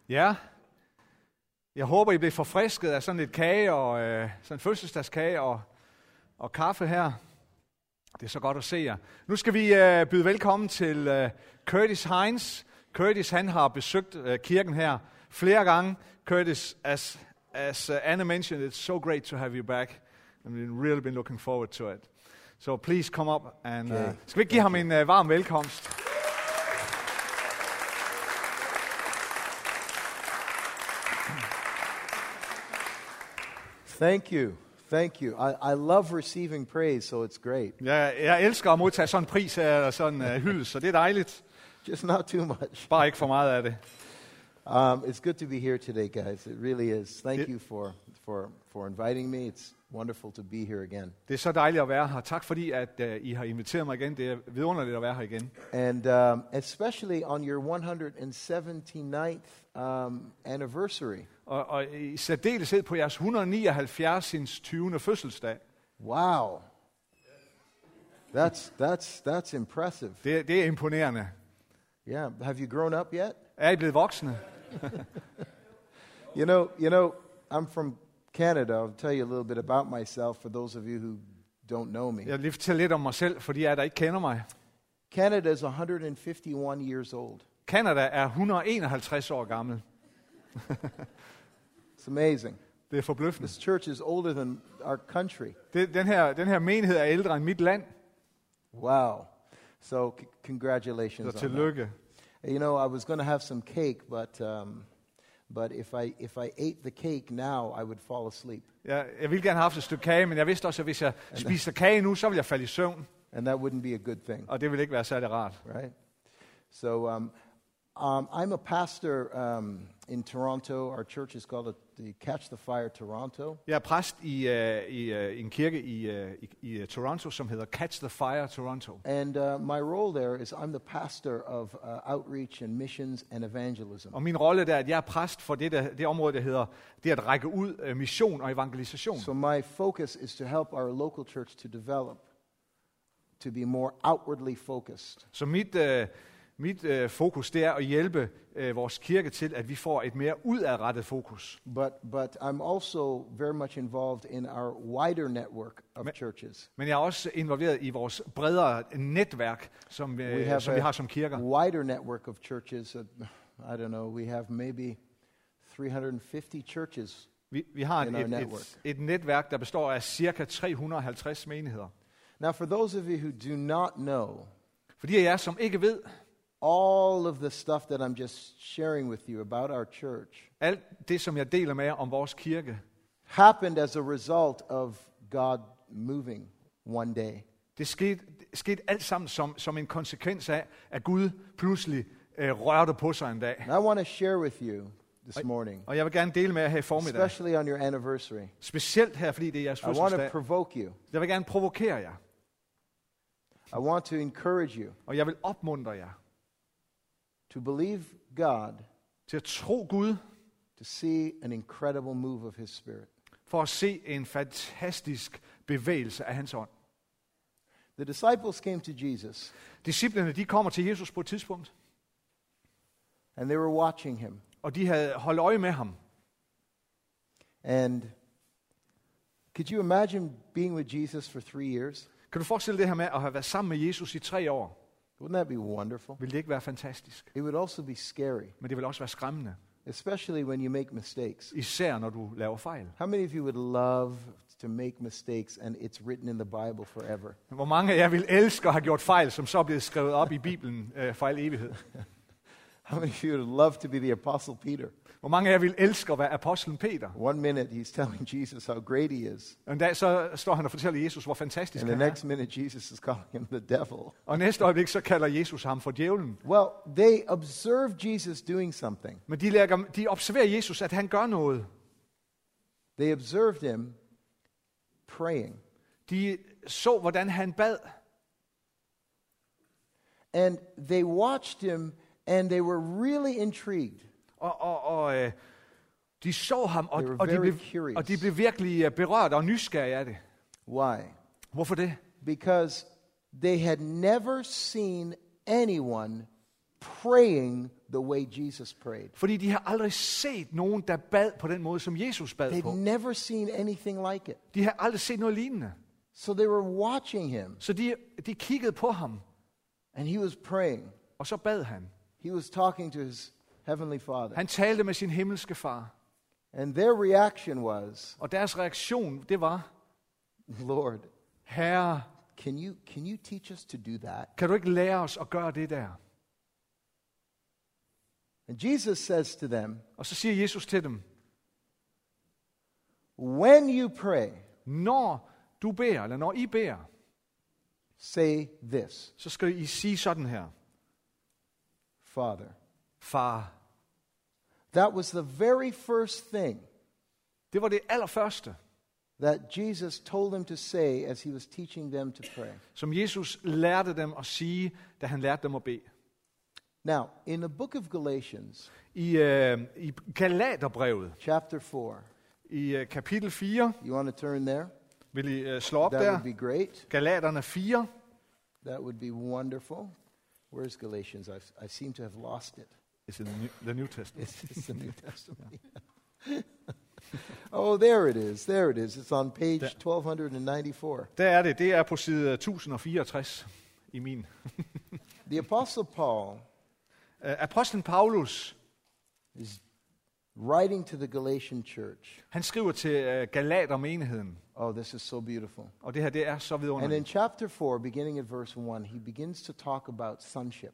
Ja, jeg håber, I bliver forfrisket af sådan lidt kage og sådan en fødselsdagskage og kaffe her. Det er så godt at se jer. Nu skal vi byde velkommen til Curtis Hines. Curtis, han har besøgt kirken her flere gange. Curtis, as Anna mentioned, it's so great to have you back. I've really been looking forward to it. So please come up and skal vi give ham en varm velkomst? Thank you. Thank you. I love receiving praise, so it's great. Ja, jeg elsker at modtage sådan en pris eller sådan en hyldest, så det er dejligt. Just not too much. Bare ikke for meget af det. It's good to be here today, guys. It really is. Thank you for inviting me. It's wonderful to be here again. Det er så dejligt at være her. Tak fordi at I har inviteret mig igen. Det er vidunderligt at være her igen. And especially on your 179th anniversary. Og i særdeleshed på jeres 179. 20. fødselsdag. Wow. That's impressive. Det er imponerende. Yeah. Have you grown up yet? Er I blevet voksne? You know, I'm from Canada. I'll tell you a little bit about myself for those of you who don't know me. Jeg vil lige fortælle lidt om mig selv, for de af jer, der ikke kender mig. Canada is 151 years old. Canada er 151 år gammel. It's amazing. Det er forbløffende. This church is older than our country. Den her menighed er ældre end mit land. Wow. So congratulations Så on tillykke. that. You know, I was going to have some cake, but if I ate the cake now, I would fall asleep. Jeg ville gerne have haft et stykke kage, men jeg vidste også, at hvis jeg spiser kage nu, så vil jeg falde i søvn. And that wouldn't be a good thing, Og det vil ikke være særlig rart. right? So I'm a pastor in Toronto. Our church is called the Catch the Fire Toronto. Jeg er præst i en kirke i Toronto, som hedder Catch the Fire Toronto. And my role there is I'm the pastor of outreach and missions and evangelism. Og min rolle der er, at jeg er præst for det område, der hedder det at række ud, mission og evangelisation. So my focus is to help our local church to develop, to be more outwardly focused. Så mit fokus, det er at hjælpe vores kirke til, at vi får et mere udadrettet fokus. But I'm also very much involved in our wider network of churches. Men jeg er også involveret i vores bredere netværk, som vi har som kirker. Wider network of churches. I don't know. We have maybe 350 churches. Vi har et netværk, der består af cirka 350 menigheder. Now, for those of you who do not know, For de af jer, som ikke ved, all of the stuff that I'm just sharing with you about our church alt det, som jeg deler med jer om vores kirke, happened as a result of God moving one day. det skete alt sammen som en konsekvens af, at Gud pludselig rørte på sig en dag. And I want to share with you this morning, Og jeg vil gerne dele med jer her i formiddag. especially on your anniversary. Specielt her, fordi det er jeres I want to fødselsdag. provoke you. Jeg vil gerne provokere jer, I want to encourage you og jeg vil opmuntre jer to believe God, til at tro Gud, to see an incredible move of His Spirit. for at se en fantastisk bevægelse af hans ånd. The disciples came to Jesus, Disciplene, de kommer til Jesus på et tidspunkt, and they were watching Him. og de havde holdt øje med ham. And could you imagine being with Jesus for 3 years? Kan du forestille det her med at have været sammen med Jesus i 3 år? Wouldn't that be wonderful? Vil det ikke være fantastisk? It would also be scary, Men det vil også være skræmmende, especially when you make mistakes. især når du laver fejl. How many of you would love to make mistakes and it's written in the Bible forever? Hvor mange af jer vil elske at have gjort fejl, som så er blevet skrevet op i Bibelen for al evighed? How many of you would love to be the Apostle Peter? Hvor mange af jer vil elske at være apostlen Peter? One minute he's telling Jesus how great he is, Og en dag så står han og fortæller Jesus, hvor fantastisk and the han er. next minute Jesus is calling him the devil. Og næste øjeblik så kalder Jesus ham for djævlen. Well, they observe Jesus doing something. Men de observerer Jesus, at han gør noget. They observed him praying. De så, hvordan han bad. And they watched him, and they were really intrigued. Og de så ham, They were og very curious. de blev virkelig berørt og nysgerrige af det. Why? Hvorfor det? Because they had never seen anyone praying the way Jesus prayed. Fordi de har aldrig set nogen, der bad på den måde, som Jesus bad They'd på. never seen anything like it. De har aldrig set noget lignende. So they were watching him, Så de kiggede på ham, and he was praying. og så bad han. He was talking to his heavenly Father. Han talte med sin himmelske far. And their reaction was, Og deres reaktion, det var, Lord, Herre, can you teach us to do that? kan du ikke lære os at gøre det der? And Jesus says to them, Og så siger Jesus til dem, when you pray, når du beder, eller når I beder, say this, så skal I sige sådan her. Father. Far. That was the very first thing Det var det allerførste, that Jesus told them to say as he was teaching them to pray. som Jesus lærte dem at sige, da han lærte dem at bede. Now, in the book of Galatians, I Galaterbrevet, chapter 4, i kapitel 4, you want to turn there? vil I slå op That der. would be great. Galaterne 4. That would be wonderful. Where's Galatians? I seem to have lost it. It's in the New Testament. It's the New Testament. Oh, there it is. There it is. It's on page 1294. Der er det. Det er på side 1064 i min. The Apostle Paul Apostlen Paulus, is writing to the Galatian church. han skriver til Galatermenigheden. Oh, this is so beautiful. Og det her, det er så And in vidunderligt. chapter 4, beginning at verse 1, he begins to talk about sonship.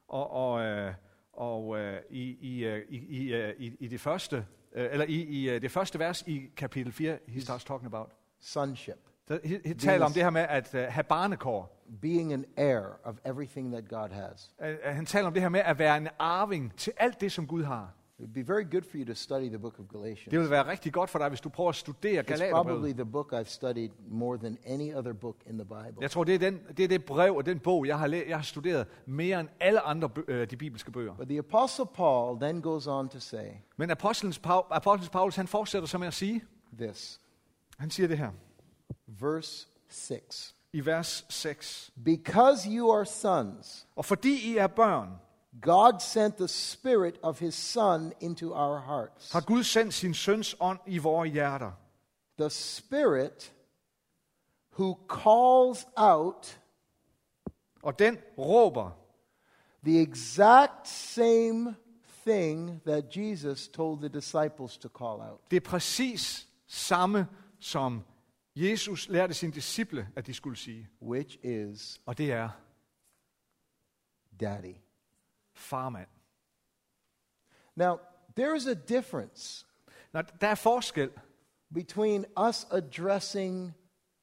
I det første, eller i det første vers i kapitel 4, he starts talking about. Sonship. He taler om det her med at have barnekår. Being an heir of everything that God has. Han taler om det her med at være en arving til alt det, som Gud har. It would be very good for you to study the book of Galatians. Det vil være rigtig godt for dig, hvis du prøver at studere It's Galaterbrevet. probably the book I've studied more than any other book in the Bible. Jeg tror, det er det brev og den bog, jeg har studeret mere end alle andre de bibelske bøger. But the Apostle Paul then goes on to say Men apostlen Paulus, han fortsætter så med at sige, this, han siger det her, verse 6. i vers 6. Because you are sons, Og fordi I er børn, God sent the Spirit of His Son into our hearts. har Gud sendt sin søns ånd i vores hjerter. The Spirit who calls out Og den råber the exact same thing that Jesus told the disciples to call out. det er præcis samme, som Jesus lærte sine disciple, at de skulle sige. Which is Og det er, Daddy. farmand. Now, there is a difference Nå, der er forskel between us addressing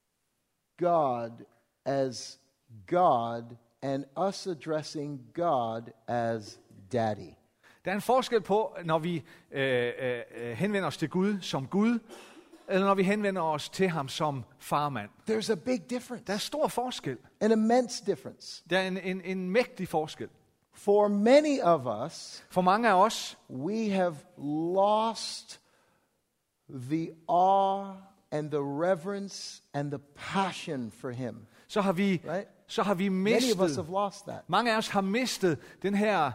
God as God and us addressing God as Daddy. Der er en forskel på, når vi henvender os til Gud som Gud, eller når vi henvender os til ham som farmand. There's a big difference, Der er stor forskel. an immense difference. Der er en mægtig forskel. For many of us, For mange af os, we have lost the awe and the reverence and the passion for Him. så har vi, Right? så har vi Many of us mistet, have lost that. mange af os har mistet det her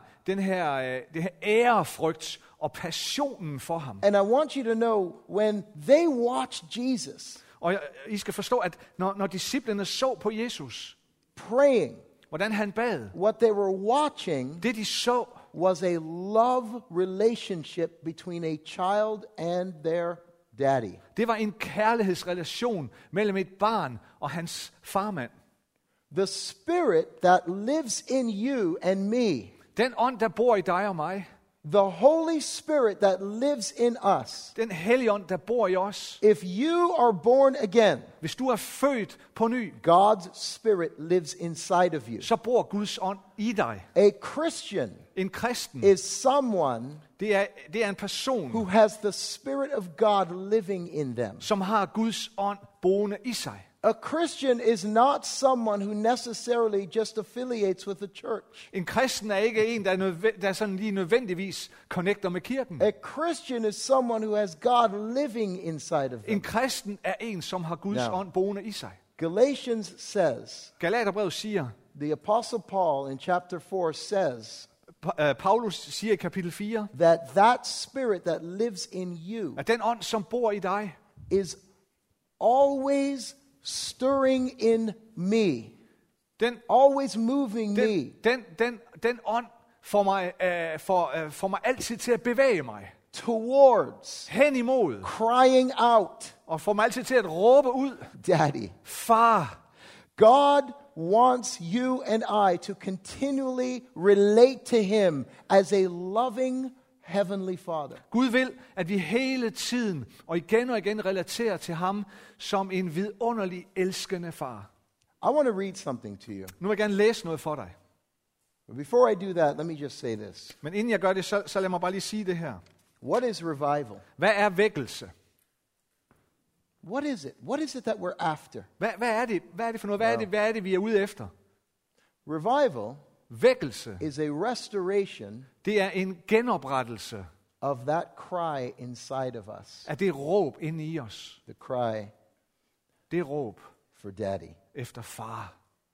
ærefrygt og passionen for ham. And I want you to know, when they watched Jesus Og I skal forstå, at når disciplene så på Jesus, praying, hvordan han bad, what they were watching det de så, was a love relationship between a child and their daddy. det var en kærlighedsrelation mellem et barn og hans farmand. The Spirit that lives in you and me, Den ånd, der bor i dig og mig, the Holy Spirit that lives in us, den hellige ånd, der bor i os, if you are born again, hvis du er født på ny, God's Spirit lives inside of you. så bor Guds ånd i dig. A Christian En kristen, is someone det er en person, who has the Spirit of God living in them. som har Guds ånd boende i sig. A Christian is not someone who necessarily just affiliates with the church. En kristen er ikke en, der sådan lige nødvendigvis connecter med kirken. A Christian is someone who has God living inside of En them. kristen er en, som har Guds Now. ånd boende i sig. Galatians says, Galaterbrevet siger, the Apostle Paul in chapter 4 says, Paulus siger i kapitel 4, that spirit that lives in you at den ånd, som bor i dig, is always stirring in me, den, always moving me den ånd får mig altid til at bevæge mig towards, hen imod, crying out, og får mig altid til at råbe ud, Daddy. far. God wants you and I to continually relate to him as a loving heavenly Father. Gud vil, at vi hele tiden og igen relaterer til ham som en vidunderlig elskende far. I want to read something to you. Nu vil jeg gerne læse noget for dig. But before I do that, let me just say this. Men inden jeg gør det, så lad mig bare lige sige det her. What is revival? Hvad er vækkelse? What is it? What is it that we're after? Hvad er det? Hvad er det for noget? Hvad er det, vi er ude efter? Revival Vækkelse, is a restoration det er en genoprettelse of that cry inside of us. af det råb inde i os. The cry Det råb for Daddy. efter far.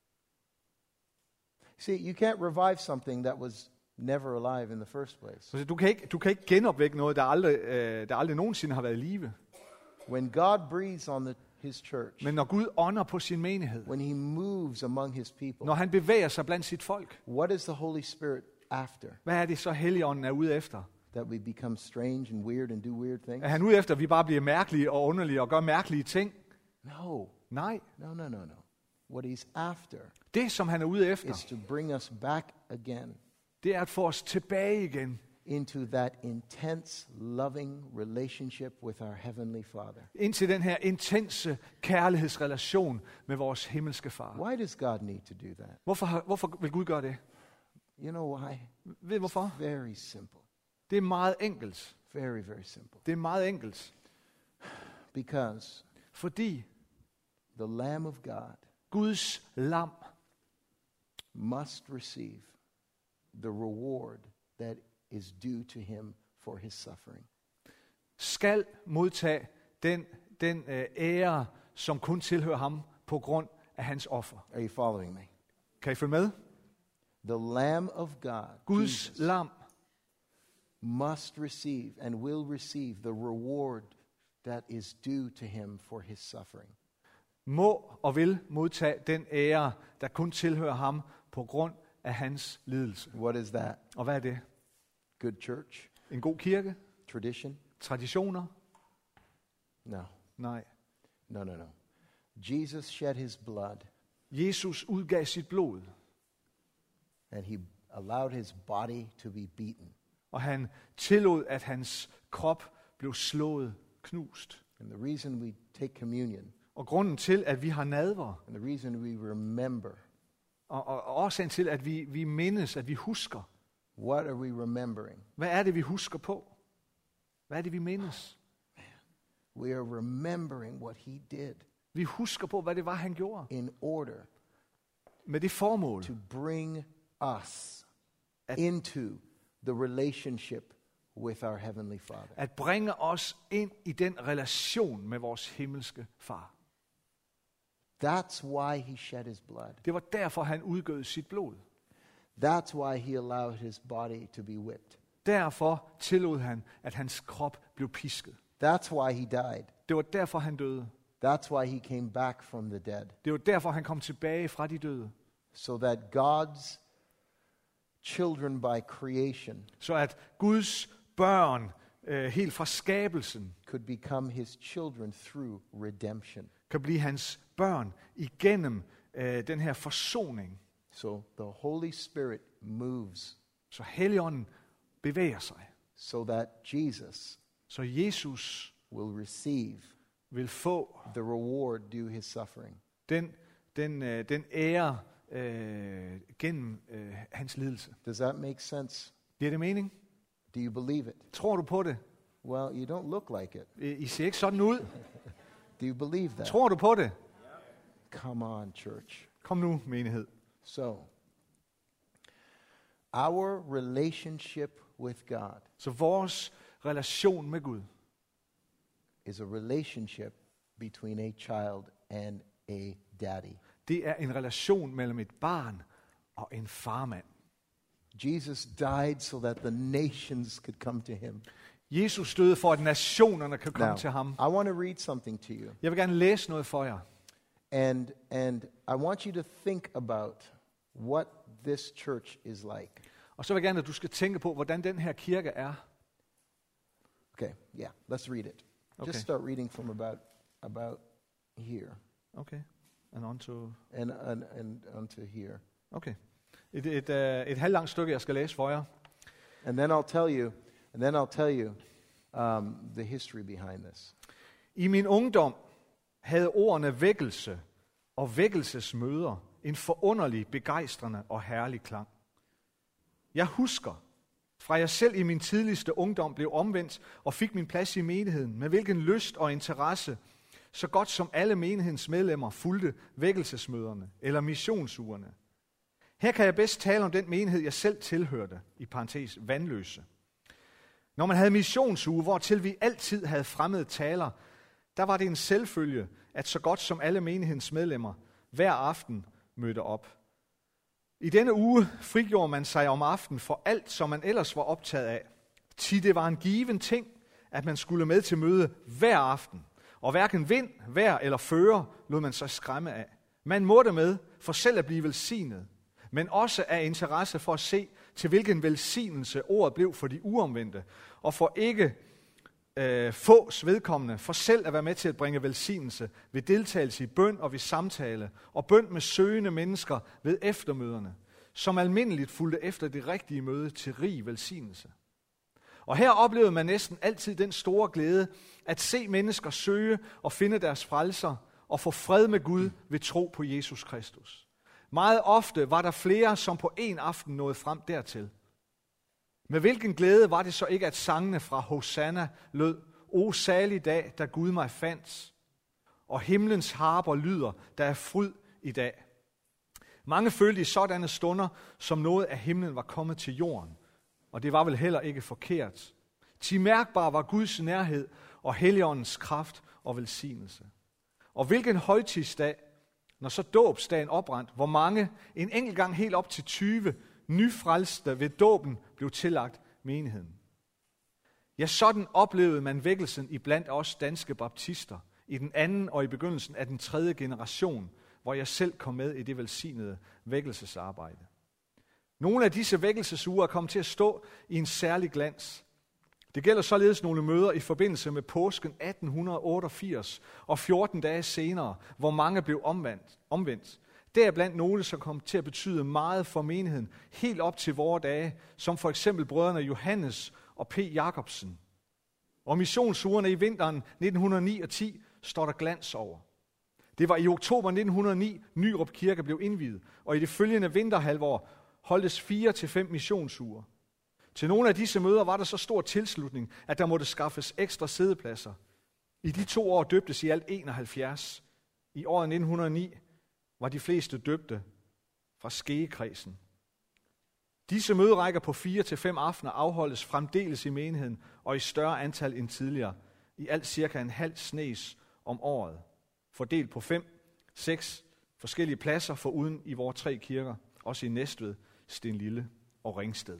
See, you can't revive something that was never alive in the first place. Så du kan ikke genopvække noget, der aldrig nogensinde har været i live. When God breathes on his church, Men når Gud ånder på sin menighed, when he moves among his people, når han bevæger sig blandt sit folk, what is the Holy Spirit after? hvad er det så Helligånden er ude efter? That we become strange and weird and do weird things? Er han ude efter, at vi bare bliver mærkelige og underlige og gør mærkelige ting? No. Nej. No. What he's after Det, som han er ude efter, is to bring us back again det er at få os tilbage igen into that intense, loving relationship with our Heavenly Father. ind til den her intense kærlighedsrelation med vores himmelske far. Why does God need to do that? Hvorfor vil Gud gøre det? You know why? Ved I hvorfor? Very simple. Det er meget enkelt. Very, very simple. Det er meget enkelt. Because Fordi the Lamb of God Guds lam must receive the reward that is due to him for his suffering. skal modtage den ære, som kun tilhører ham på grund af hans offer. Are you following me? Kan I følge med? The Lamb of God, Guds Jesus, lam must receive and will receive the reward that is due to him for his suffering. må og vil modtage den ære, der kun tilhører ham på grund af hans lidelse. What is that? Og hvad er det? Good church? En god kirke? Tradition? Traditioner? No. Nej. No. Jesus shed his blood Jesus udgav sit blod, and he allowed his body to be beaten. og han tillod, at hans krop blev slået, knust. And the reason we take communion, Og grunden til, at vi har nadver, and the reason we remember, og årsagen til, at vi mindes, at vi husker, what are we remembering? hvad er det, vi husker på? Hvad er det, vi mindes? We are remembering what he did Vi husker på, hvad det var, han gjorde. in order Med det formål, to bring us into the relationship with our Heavenly Father. at bringe os ind i den relation med vores himmelske far. That's why he shed his blood. Det var derfor, han udgød sit blod. That's why he allowed his body to be whipped. Derfor tillod han, at hans krop blev pisket. That's why he died. Det var derfor, han døde. That's why he came back from the dead. Det var derfor, han kom tilbage fra de døde. So that God's children by creation Så at Guds børn, helt fra skabelsen, could become his children through redemption. kan blive hans børn igennem den her forsoning. So the Holy Spirit moves Så Helligånden bevæger sig. so that Jesus Så Jesus will receive vil få the reward due his suffering. den ære gennem hans lidelse. Does that make sense? Giver det mening? Do you believe it? Tror du på det? Well, you don't look like it. I ser ikke sådan ud. Do you believe that? Tror du på det? Come on, church. Kom nu, menighed. So, our relationship with God Så vores relation med Gud is a relationship between a child and a daddy. det er en relation mellem et barn og en farmand. Jesus died so that the nations could come to him. Jesus døde for, at nationerne kan komme til ham. I want to read something to you. Jeg vil gerne læse noget for jer. And I want you to think about what this church is like. Og så vil jeg gerne, at du skal tænke på, hvordan den her kirke er. Okay, yeah, let's read it. Okay. Just start reading from about here Okay. And on to... and onto here. Okay. Et halvlangt stykke, jeg skal læse for jer. And then I'll tell you the history behind this. I min ungdom havde ordene vækkelse og vækkelsesmøder en forunderlig, begejstrende og herlig klang. Jeg husker, fra jeg selv i min tidligste ungdom blev omvendt og fik min plads i menigheden, med hvilken lyst og interesse, så godt som alle menighedens medlemmer fulgte vækkelsesmøderne eller missionsugerne. Her kan jeg bedst tale om den menighed, jeg selv tilhørte, i parentes Vandløse. Når man havde missionsuge, hvortil vi altid havde fremmede taler, der var det en selvfølge, at så godt som alle menighedens medlemmer hver aften mødte op. I denne uge frigjorde man sig om aftenen for alt, som man ellers var optaget af. Det var en given ting, at man skulle med til møde hver aften. Og hverken vind, vejr eller fører lod man sig skræmme af. Man måtte med for selv at blive velsignet, men også af interesse for at se, til hvilken velsignelse ordet blev for de uomvendte, og for ikke fås vedkommende, for selv at være med til at bringe velsignelse ved deltagelse i bøn og ved samtale, og bøn med søgende mennesker ved eftermøderne, som almindeligt fulgte efter det rigtige møde til rig velsignelse. Og her oplevede man næsten altid den store glæde at se mennesker søge og finde deres frelser og få fred med Gud ved tro på Jesus Kristus. Meget ofte var der flere, som på en aften nåede frem dertil. Med hvilken glæde var det så ikke, at sangene fra Hosanna lød, O salig dag, da Gud mig fandt, og himlens harper lyder, der er fryd i dag. Mange følte i sådanne stunder, som noget af himlen var kommet til jorden, og det var vel heller ikke forkert. Til mærkbar var Guds nærhed og Helligåndens kraft og velsignelse. Og hvilken højtidsdag, når så dåbsdagen oprandt, hvor mange, en enkelt gang helt op til 20, nyfrelste ved dåben blev tillagt menigheden. Ja, sådan oplevede man vækkelsen i blandt os danske baptister i den anden og i begyndelsen af den 3. generation, hvor jeg selv kom med i det velsignede vækkelsesarbejde. Nogle af disse vækkelsesuger er kommet til at stå i en særlig glans. Det gælder således nogle møder i forbindelse med påsken 1888 og 14 dage senere, hvor mange blev omvendt. Deriblandt nogle, som kom til at betyde meget for menigheden, helt op til vore dage, som for eksempel brødrene Johannes og P. Jacobsen. Og missionsugerne i vinteren 1909 og 10 står der glans over. Det var i oktober 1909, Nyrup Kirke blev indviet, og i det følgende vinterhalvår holdtes 4 til 5 missionsuger. Til nogle af disse møder var der så stor tilslutning, at der måtte skaffes ekstra siddepladser. I de 2 år døbtes i alt 71. I året 1909 var de fleste døbte fra Skegekredsen. Disse møderækker på 4 til 5 aftener afholdes fremdeles i menigheden og i større antal end tidligere. I alt cirka en halv snes om året. Fordelt på 5-6 forskellige pladser foruden i vores 3 kirker. Også i Næstved, Stenlille og Ringsted.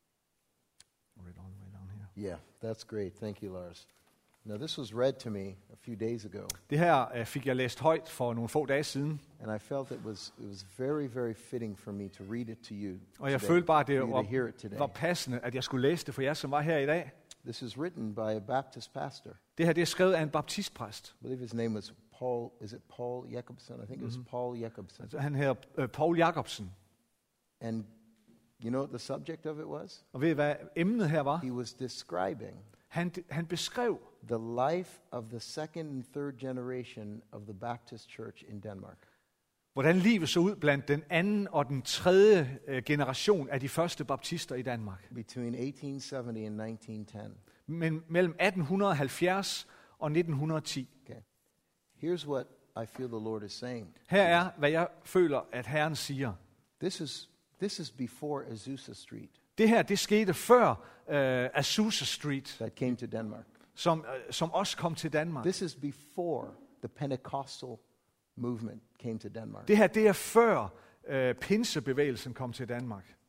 Yeah, that's great. Thank you, Lars. Now, this was read to me a few days ago. Det her fik jeg læst højt for nogle få dage siden. And I felt it was very, very fitting for me to read it to you. Og jeg today, følte bare, at det for you to hear it today. var passende, at jeg skulle læse det for jer, som var her i dag. This is written by a Baptist pastor. Det her det er skrevet af en baptistpræst. I believe his name was Paul. Is it Paul Jacobson? I think it was Paul Jacobson. Altså, han hedder Paul Jacobsen. And you know what the subject of it was? Og ved I, hvad emnet her var? He was describing Han beskrev the life of the second and third generation of the Baptist Church in Denmark. hvordan livet så ud blandt den anden og den tredje generation af de første baptister i Danmark. Between 1870 and 1910. Men mellem 1870 og 1910. Okay. Here's what I feel the Lord is saying. Her er, hvad jeg føler, at Herren siger. This is before Azusa Street Det her, det skete før Azusa Street, that came to Denmark. som også kom til Danmark. This is before the Pentecostal movement came to Denmark. Det her, det er før pinsebevægelsen kom til Danmark.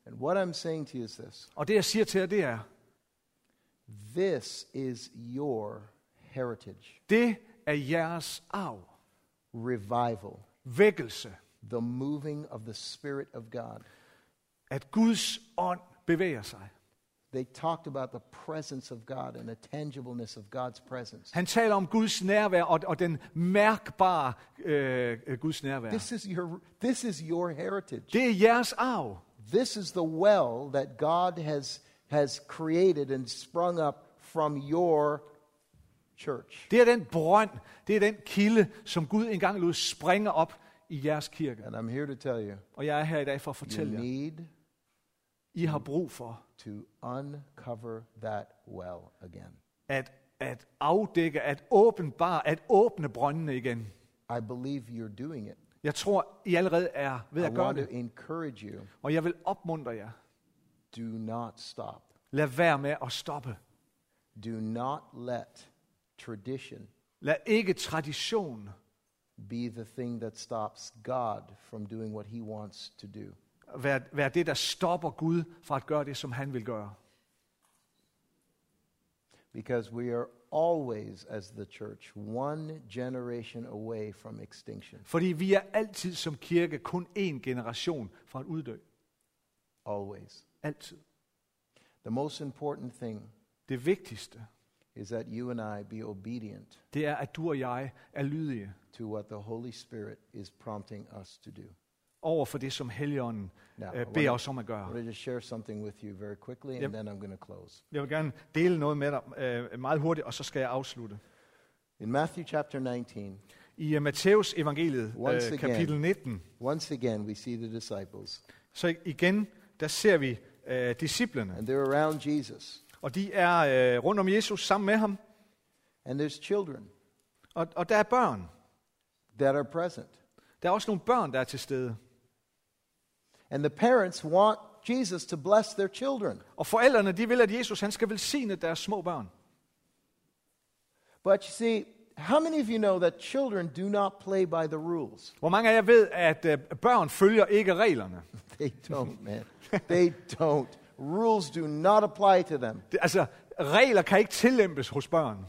And what I'm saying to you is this. Og det jeg siger til jer, det er, This is your heritage. det er jeres arv. Revival. Vækkelse. The moving of the Spirit of God. At Guds ånd bevæger sig. They talked about the presence of God and the tangibleness of God's presence. Han taler om Guds nærvær og den mærkbare Guds nærvær. This is your heritage. Det er jeres arv. This is the well that God has created and sprung up from your church. Det er den brønd, det er den kilde, som Gud engang lod springe op i jeres kirke. And I'm here to tell you, Og jeg er her i dag for at you fortælle jer, need I har brug for to uncover that well again. at afdække, at åbenbare, at åbne brøndene igen. I believe you're doing it. Jeg tror, I allerede er ved I at gøre want to det. encourage you. Og jeg vil opmuntre jer. Do not stop. Lad være med at stoppe. Do not let tradition Lad ikke tradition be the thing that stops God from doing what he wants to do. være det, der stopper Gud fra at gøre det, som han vil gøre. Because we are always, as the church, one generation away from extinction. Fordi vi er altid som kirke kun én generation fra at uddø. Always. Altid. The most important thing Det vigtigste, is that you and I be obedient det er, at du og jeg er lydige to what the Holy Spirit is prompting us to do. over for det, som Helligånden Now, beder os om at I gøre. want to just share something with you very quickly, and Yep. then I'm going to close. Jeg vil gerne dele noget med dig meget hurtigt, og så skal jeg afslutte. In Matthew chapter 19, I Matteus evangeliet, Once again. kapitel 19, once again we see the disciples, så igen, der ser vi disciplene. and they're around Jesus, Og de er rundt om Jesus sammen med ham. and there's children Og der er børn. that are present. Der er også nogle børn, der er til stede. And the parents want Jesus to bless their children. Og forældrene, de vil, at Jesus han skal velsigne deres små børn. But you see, how many of you know that children do not play by the rules? Hvor mange af jer ved, at børn følger ikke reglerne? They don't, man. They don't. Rules do not apply to them. Regler kan ikke tillempes hos børn.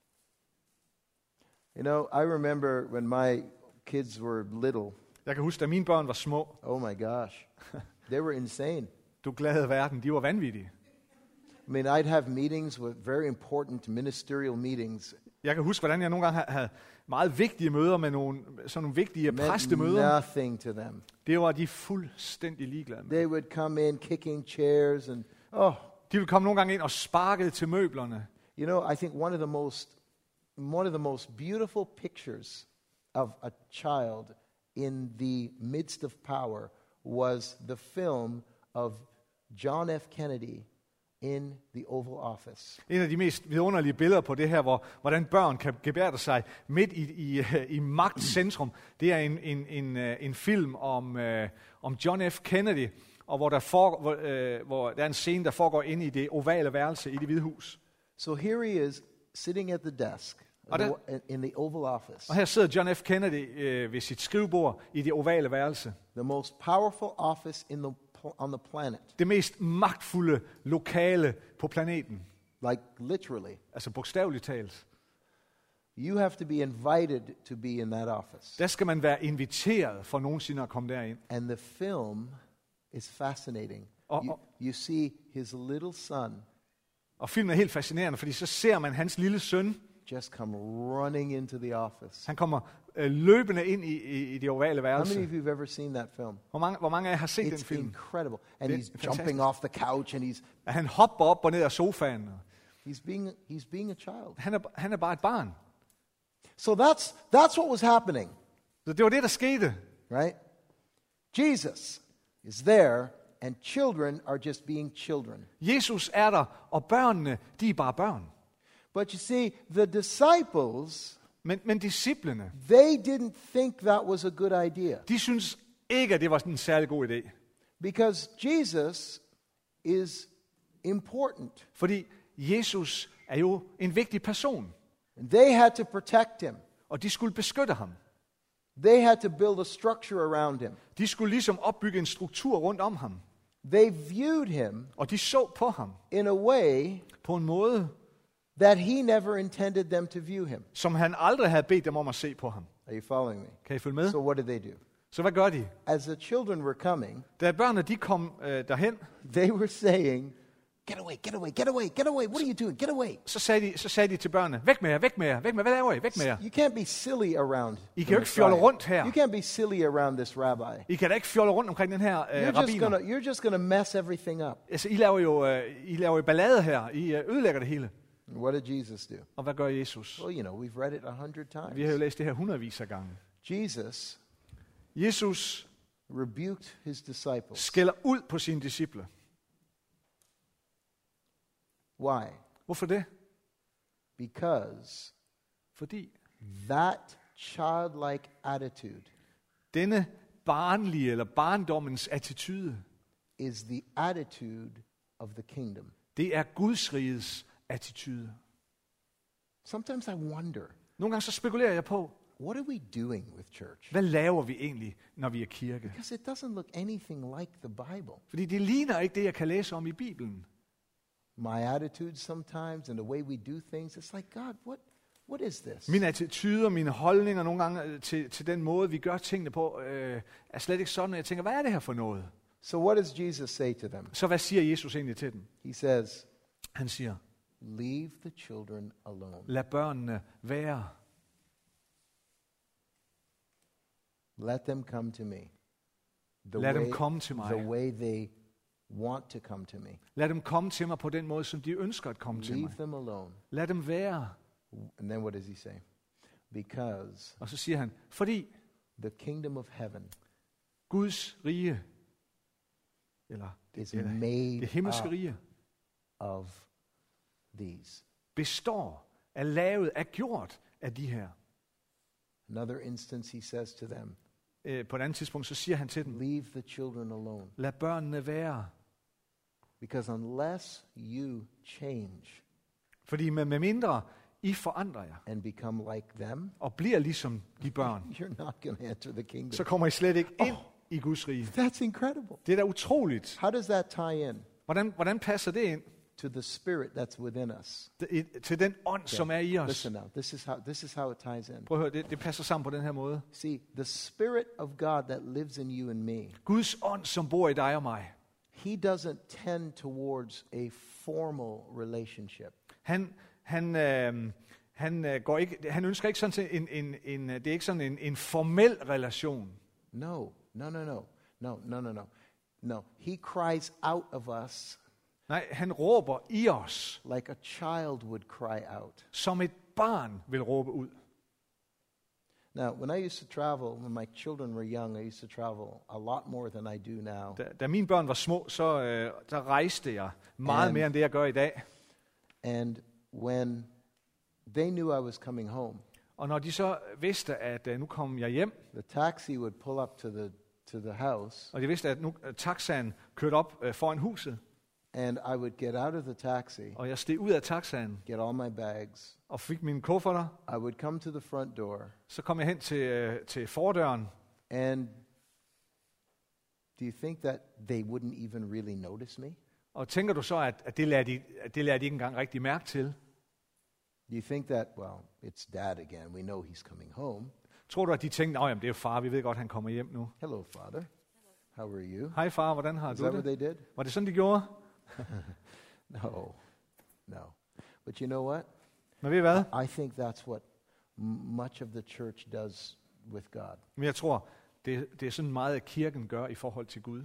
You know, I remember when my kids were little. Jeg kan huske, da mine børn var små. Oh my gosh. They were insane. Du glade verden, de var vanvittige. I mean, I'd have meetings with very important ministerial meetings. Jeg kan huske, hvordan jeg nogle gange havde meget vigtige møder med sådan nogle vigtige Meant præstemøder. nothing to them. Det var de fuldstændig ligeglade med. They would come in kicking chairs and, De ville komme nogle gange ind og sparkede til møblerne. you know, I think one of the most beautiful pictures of a child in the midst of power was the film of John F. Kennedy in the Oval Office. En af de mest vidunderlige billeder på det her, hvordan børn kan gebærde sig midt i magtcentrum, det er en film om John F. Kennedy, og hvor der er en scene, der foregår inde i det ovale værelse i Det Hvide Hus. So here he is sitting at the desk in the Oval Office. Og her sidder John F. Kennedy ved sit skrivebord i det ovale værelse. The most powerful office on the planet. Det mest magtfulde lokale på planeten. Like literally. Altså bogstaveligt talt. You have to be invited to be in that office. Der skal man være inviteret for nogensinde at komme derind. And the film is fascinating. You see his little son. Og filmen er helt fascinerende, fordi så ser man hans lille søn Just come running into the office. Han kommer løbende ind i det ovale How værelse. many of you have ever seen that film? Hvor mange af jer har set den It's film? incredible. And Det er he's fantastisk. jumping off the couch and Han hopper op og ned af sofaen. he's being a child. Han er bare et barn. So that's what was happening, Så det var det, der skete. right? Jesus is there and children are just being children. Jesus er der, og børnene, de er bare børn. But you see, the disciples, Men disciplene, they didn't think that was a good idea. de synes ikke, at det var en særlig god idé. Because Jesus is important. Fordi Jesus er jo en vigtig person, And they had to protect him. og de skulle beskytte ham. They had to build a structure around him. De skulle ligesom opbygge en struktur rundt om ham. They viewed him Og de så på ham in a way på en måde, that he never intended them to view him. som han aldrig havde bedt dem om at se på ham. Are you following me? Kan I følge med? So what did they do? Så hvad gør de? As the children were coming, Da børnene de kom derhen, they were saying, "Get away, get away, get away, get away. What are you doing? Get away." så sagde de til børnene, væk med jer, væk med jer, væk med jer. Hvad laver I? Væk med jer. You can't be silly around. I the kan jo ikke fjolle Messiah. rundt her. You can't be silly around this rabbi. I kan da ikke fjolle rundt omkring den her rabbiner. You're just gonna mess everything up. Altså, I laver jo ballade her. I ødelægger det hele. What did Jesus do? Og hvad gør Jesus? Well, you know, we've read it 100 Vi har jo times. læst det her hundredvis af gange. Jesus Rebuked his disciples. skælder ud på sine disciple. Why? Hvorfor det? Because Fordi that childlike attitude denne barnlige eller barndommens attitude, is the attitude of the kingdom. det er Guds rigets attitude. Sometimes I wonder, Nogle gange så spekulerer jeg på, what are we doing with church? hvad laver vi egentlig, når vi er kirke? Because it doesn't look anything like the Bible. Fordi det ligner ikke det, jeg kan læse om i Bibelen. My attitude sometimes and the way we do things, it's like, God, what is this? Mine attituder, mine holdninger nogle gange til den måde, vi gør tingene på, er slet ikke sådan, at jeg tænker, hvad er det her for noget? So what does Jesus say to them? Så hvad siger Jesus egentlig til dem? He says, Han siger, leave the children alone. lad børnene være. Let them come to me. Lad dem komme til mig. The way they want to come to me. Lad dem komme til mig på den måde, som de ønsker at komme til Leave mig. them alone. Lad dem være. And then what does he say? Because Og så siger han, fordi the kingdom of heaven Guds rige, eller is det made himmelske up rige, of these. består, er lavet, er gjort af de her. Another instance, he says to them, På et andet tidspunkt, så siger han til dem, leave the children alone. lad børnene være. Because unless you change Fordi med mindre I forandrer jer, and become like them, og bliver ligesom de børn, you're not going to enter the kingdom. så kommer I slet ikke ind i Guds rige. That's incredible. Det er da utroligt. How does that tie in Hvordan passer det ind to the spirit that's within us? til den ånd, som er i os? Listen now. This is how it ties in. Prøv at høre, det passer sammen på den her måde. See, the spirit of God that lives in you and me, Guds ånd, som bor i dig og mig, he doesn't tend towards a formal relationship. han ønsker ikke sådan til det er ikke sådan en formel relation. No. He cries out of us Nej, han råber i os, like a child would cry out. som et barn vil råbe ud. Now, when I used to travel, when my children were young, I used to travel a lot more than I do now. Da mine børn var små, så der rejste jeg meget mere end det, jeg gør i dag. And when they knew I was coming home, Og når de så vidste, at nu kom jeg hjem, the taxi would pull up to the house, og de vidste, at nu taxaen kørte op foran huset, and I would get out of the taxi, og jeg steg ud af taxaen get all my bags. og fik mine kufferter. I would come to the front door, Så kom jeg hen til fordøren, and do you think that they wouldn't even really notice me? og tænker du så, at det lader de ikke engang rigtig mærke til? Do you think that, well, it's Dad again, we know he's coming home. Tror du, at de tænkte, jamen det er jo far, vi ved godt, han kommer hjem nu. Hello, Father. How are you? Hej far, hvordan har Is du that what det? they did? Var det sådan, de gjorde? No. But you know what? Men ved I hvad? I think that's what much of the church does with God. Men jeg tror, det er sådan meget, at kirken gør i forhold til Gud.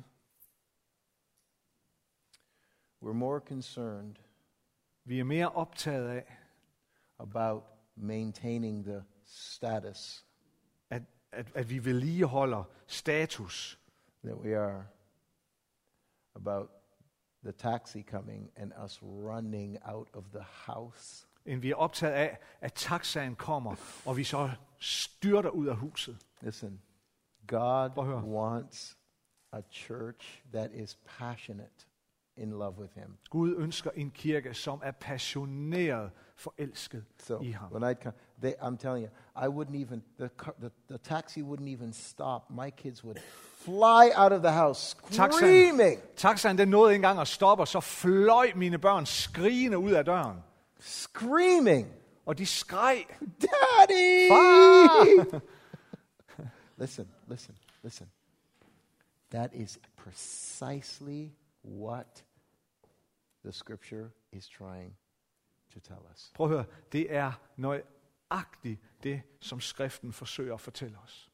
We're more concerned Vi er mere optaget af, about maintaining the status at vi vedligeholder status, that we are about the taxi coming and us running out of the house. end vi er optaget af, at taxaen kommer, og vi så styrter ud af huset. Listen, God Prøv at høre. wants a church that is passionate in love with him. Gud ønsker en kirke, som er passioneret forelsket So i ham. when I'd come, I'm telling you, I wouldn't even, the taxi wouldn't even stop. My kids would fly out of the house screaming. Taxaen den nåede ikke engang at stoppe, og så fløj mine børn skrigende ud af døren. Screaming. Og de skreg, Daddy! far! Listen. That is precisely what the scripture is trying to tell us. Prøv at høre, det er nøjagtigt det, som skriften forsøger at fortælle os.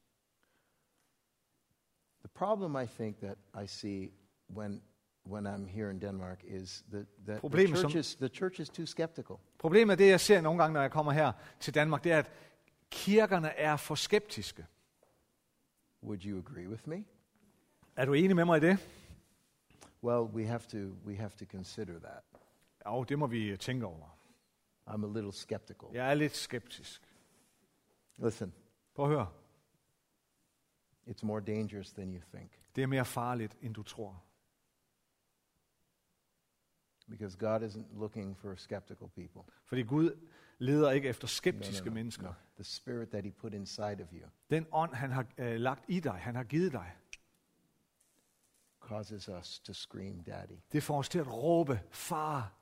The problem I think that I see when I'm here in Denmark is that the church is too skeptical. Problemet er det, jeg ser nogle gange, når jeg kommer her til Danmark, det er, at kirkerne er for skeptiske. Would you agree with me? Er du enig med mig i det? Well, we have to consider that. Jo, det må vi tænke over. I'm a little skeptical. Jeg er lidt skeptisk. Listen, Prøv at høre. it's more dangerous than you think. Det er mere farligt, end du tror. Because God isn't looking for skeptical people. Fordi Gud leder ikke efter skeptiske mennesker. No. The spirit that he put inside of you Den ånd, han har lagt i dig, han har givet dig, causes us to scream, Daddy. det får os til at råbe, far.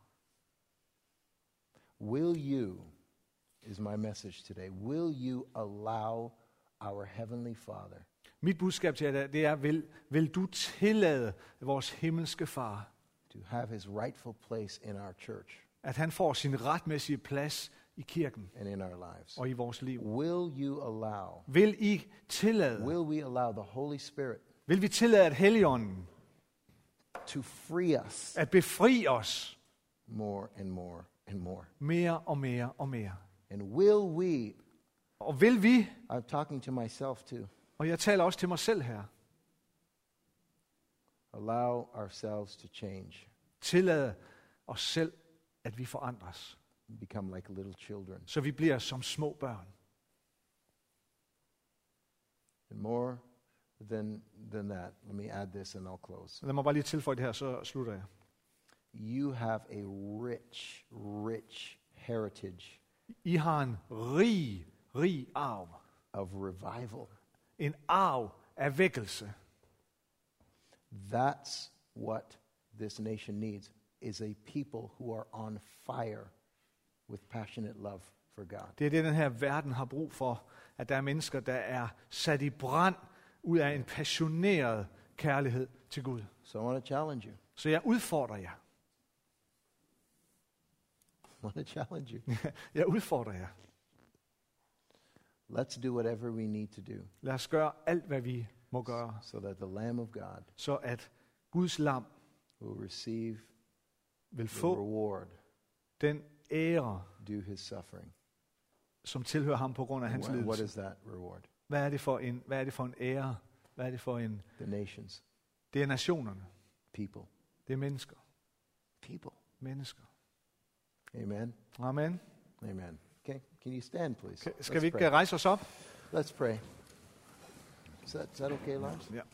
Will you, is my message today, will you allow our Heavenly Father Mit budskab til jer, det er, vil du tillade vores himmelske far, to have his rightful place in our church at han får sin retmæssige plads i kirken and in our lives? og i vores liv? Will you allow, Vil I tillade, will we allow the Holy Spirit vil vi tillade, at Helligånden to free us at befri os more and more and more? mere og mere og mere? And will we, Og vil vi, I'm talking to myself too, og jeg taler også til mig selv her, allow ourselves to change, tillade os selv, at vi forandres, become like little children? så vi bliver som små børn. And more than that, let me add this and I'll close. Lad mig bare lige tilføje det her, så slutter jeg. You have a rich heritage I har en rig arv. of revival. En arv af vækkelse. That's what this nation needs, is a people who are on fire with passionate love for God. Det er det, den her verden har brug for. At der er mennesker, der er sat i brand ud af en passioneret kærlighed til Gud. So I want to challenge you. Så jeg udfordrer jer. I want to challenge you. Jeg udfordrer jer. Let's do whatever we need to do Lad os gøre alt, hvad vi må gøre, so that the Lamb of God så at Guds lam will receive vil the få reward den ære, due his suffering. som tilhører ham på grund af hans What lidelse. is that reward? Hvad er det for en ære? Hvad er det for en... The nations, Det er nationerne. people, Det er mennesker. people. Mennesker. Amen. Amen. Amen. Okay, can you stand, please? Skal vi Let's ikke pray. rejse os op? Let's pray. Is that okay, Lars? Ja.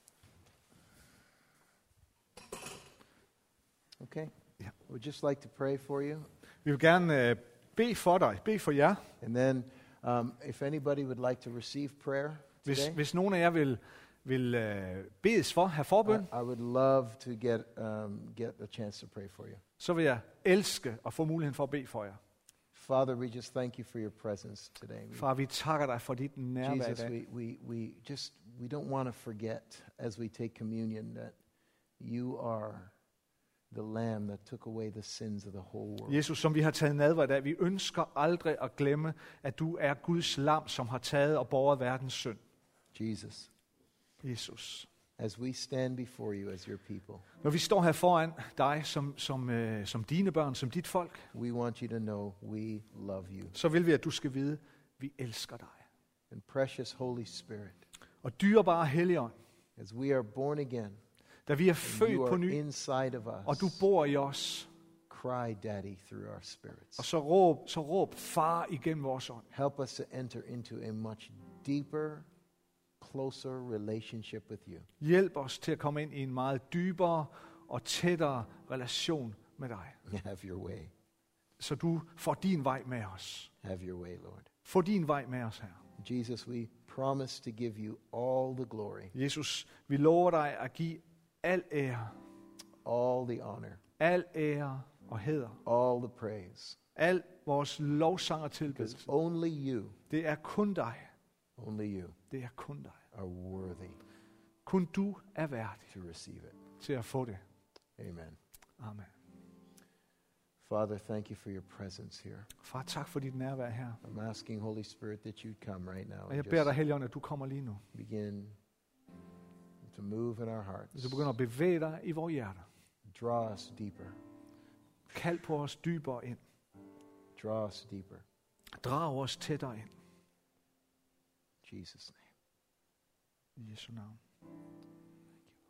Okay. Yeah. We'd just like to pray for you. Vi vil gerne bede for dig, bede for jer. And then if anybody would like to receive prayer today, Hvis nogen af jer vil bedes for, have forbøn, I would love to get a chance to pray for you. så vil jeg elske at få muligheden for at bede for jer. Father, we just thank you for your presence today. Far, vi takker dig for dit nærvær i Jesus, dag. we don't want to forget as we take communion that you are the lamb that took away the sins of the whole world. Jesus, som vi har taget nadver i dag, vi ønsker aldrig at glemme, at du er Guds lam, som har taget og båret verdens synd. Jesus, Jesus. as we stand before you as your people, Når vi står her foran dig som dine børn, som dit folk, we want you to know we love you. så vil vi, at du skal vide, vi elsker dig. And precious Holy Spirit, Og dyrebare Helligånd, as we are born again, da vi er and født you på are ny, inside of og us, du bor i os, cry daddy through our spirits. og så råb far igennem vores ånd. Help us to enter into a much deeper, closer relationship with you. Hjælp os til at komme ind i en meget dybere og tættere relation med dig. Have your way. Så du får din vej med os. Have your way, Lord. Få din vej med os her. Jesus, we promise to give you all the glory, Jesus, vi lover dig at give al ære, all the honor, al ære og hæder, all the praise. al vores lovsang og Because tilbedelse. only you, Det er kun dig. only you Det er kun dig. are worthy Kun du er værdig to receive it. til at få det. Amen. Amen. Father, thank you for your presence here. Far, tak for dit nærvær her. I'm asking, Holy Spirit, that you'd come right now Og jeg and beder dig, just Helligånd, at du kommer lige nu. begin to move in our hearts. Så du begynder at bevæge dig i vores hjerter. Draw us deeper. Kald på os dybere ind. Draw us deeper. Drag os tættere ind. In Jesus' name. I Jesu navn.